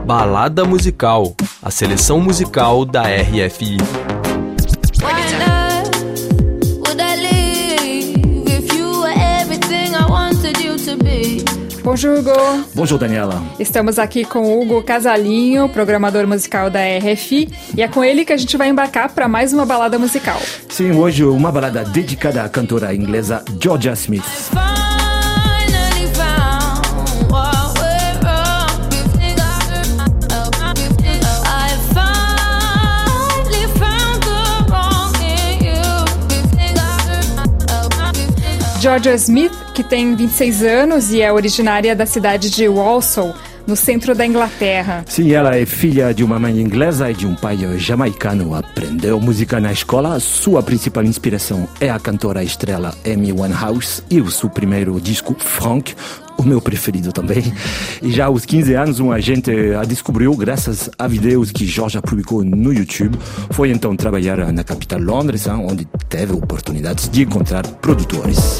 Balada Musical, a seleção musical da RFI. Bonjour, Hugo. Bonjour, Daniela. Estamos aqui com Hugo Casalinho, programador musical da RFI, e é com ele que a gente vai embarcar para mais uma balada musical. Sim, hoje uma balada dedicada à cantora inglesa Jorja Smith. Jorja Smith, que tem 26 anos e é originária da cidade de Walsall, no centro da Inglaterra. Sim, ela é filha de uma mãe inglesa e de um pai jamaicano. Aprendeu música na escola. Sua principal inspiração é a cantora estrela Amy Winehouse e o seu primeiro disco, Frank, o meu preferido também. E já aos 15 anos, um agente a descobriu graças a vídeos que Jorja publicou no YouTube. Foi então trabalhar na capital Londres, onde teve oportunidades de encontrar produtores.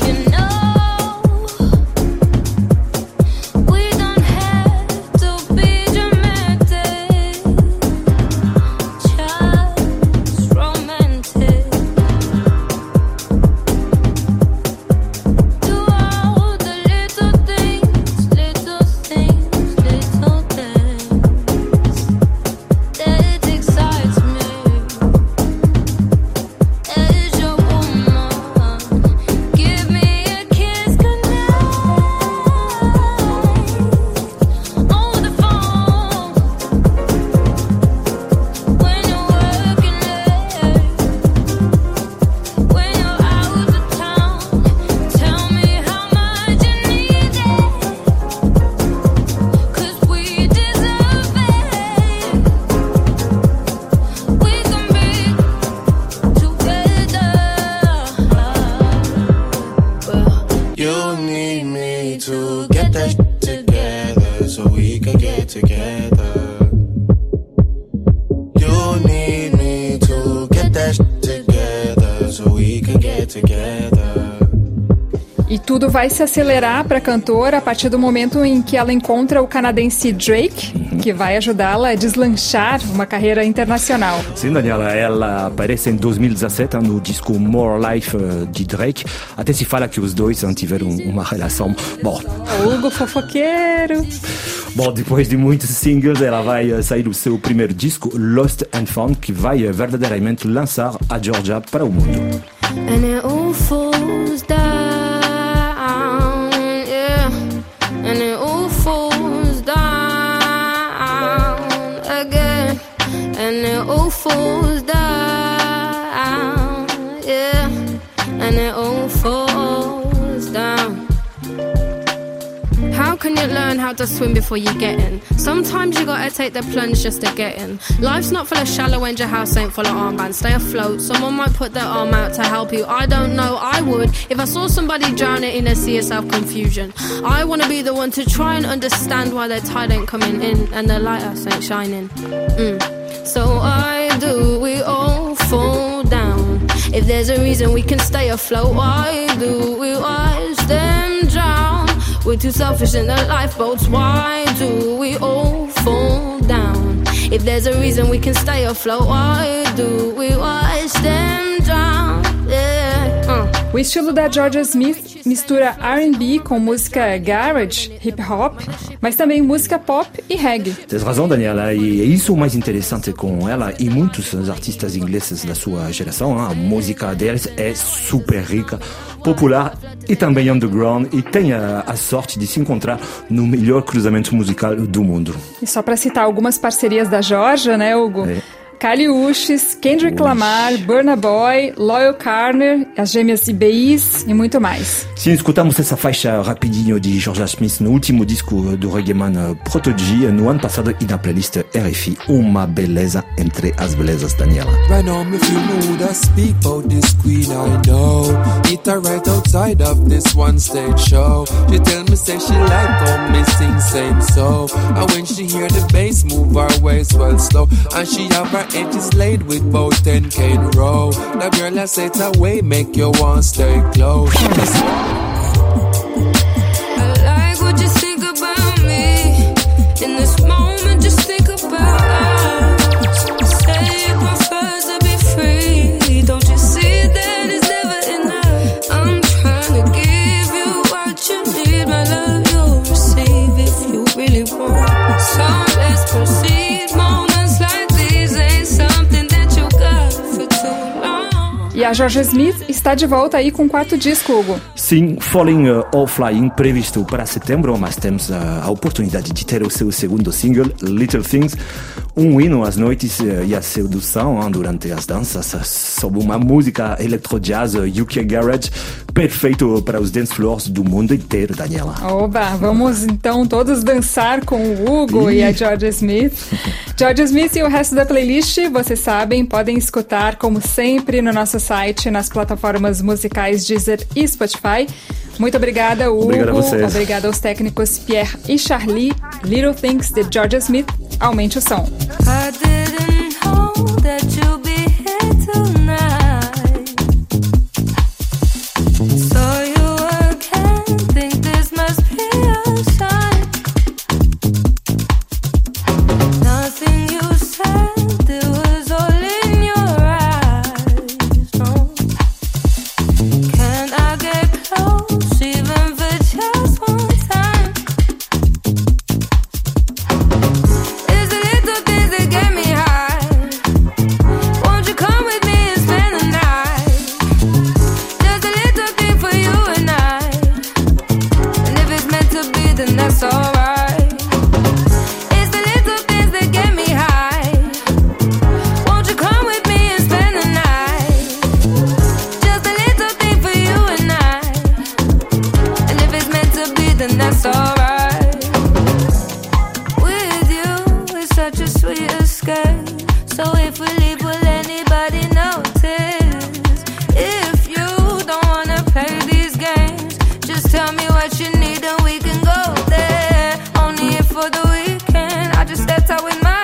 E tudo vai se acelerar para a cantora a partir do momento em que ela encontra o canadense Drake, que vai ajudá-la a deslanchar uma carreira internacional. Sim, Daniela, ela aparece em 2017 no disco More Life de Drake. Até se fala que os dois tiveram uma relação. Bom, Hugo fofoqueiro. Bom, depois de muitos singles, ela vai sair o seu primeiro disco, Lost and Found, que vai verdadeiramente lançar a Jorja para o mundo. And it all falls down, yeah. And it all falls down again. And it all falls down, yeah. And it all falls down. How can you learn how to swim before you get in? Sometimes you gotta take the plunge just to get in. Life's not full of shallow and your house ain't full of armbands. Stay afloat, someone might put their arm out to help you. I don't know, I would if I saw somebody drowning in a sea of self-confusion. I wanna be the one to try and understand why their tide ain't coming in and their lighthouse ain't shining. So why do we all fall down? If there's a reason we can stay afloat, why do we watch them drown? We're too selfish in the lifeboats. Why do we all fall down? If there's a reason we can stay afloat, why do we watch them drown? Yeah. O estilo da Jorja Smith mistura R&B com música garage, hip hop, mas também música pop e reggae. Tens razão, Daniela, e é isso o mais interessante com ela e muitos artistas ingleses da sua geração. A música deles é super rica, popular e também underground, e tem a sorte de se encontrar no melhor cruzamento musical do mundo. E só para citar algumas parcerias da Jorja, né, Hugo? Kali Uchis, Kendrick Lamar, Burna Boy, Loyle Carner, as gêmeas IBIs e muito mais. Sim, escutamos essa faixa rapidinho de Jorja Smith no último disco do reggaeman Prodigy no ano passado e na playlist RFI. Uma beleza entre as belezas, Daniela. Right now me feel mood I speak about this queen I know. Meet her right outside of this one stage show. She tell me say she like how me sing same so. And when she hear the bass move her waist well slow. And she have her edges laid with both 10K in a row. The girl I say it's a way make you want stay close. I like what you think about me. In this moment just think So let's proceed. Moments like these ain't something that you got for too long. E a Georgia Smith está de volta aí com o quarto disco, Hugo. Sim, Falling or Flying, previsto para setembro, mas temos a oportunidade de ter o seu segundo single, Little Things, um hino às noites e à sedução durante as danças, sob uma música electro-jazz UK Garage, perfeito para os dance floors do mundo inteiro, Daniela. Oba, vamos então todos dançar com o Hugo e a Georgia Smith. Georgia Smith e o resto da playlist, vocês sabem, podem escutar como sempre no nosso site, nas plataformas musicais Deezer e Spotify. Muito obrigada, Hugo. Obrigado a vocês. Obrigada aos técnicos Pierre e Charlie. Little Things de Georgia Smith. Aumente o som. I didn't know that you'd be here tonight. Saw you again, think this must be a sign. Nothing you said, it was all in your eyes. No. Can I get close, even for just one time? It's the little things that get me high. Won't you come with me and spend the night? Just a little thing for you and I. And if it's meant to be, then that's alright. It's the little things that get me high. Won't you come with me and spend the night? Just a little thing for you and I. And if it's meant to be, then that's alright. With you, it's such a sweet escape. So if we leave, will anybody notice? If you don't wanna play these games, just tell me what you need and we can go there. Only if for the weekend, I just stepped out with my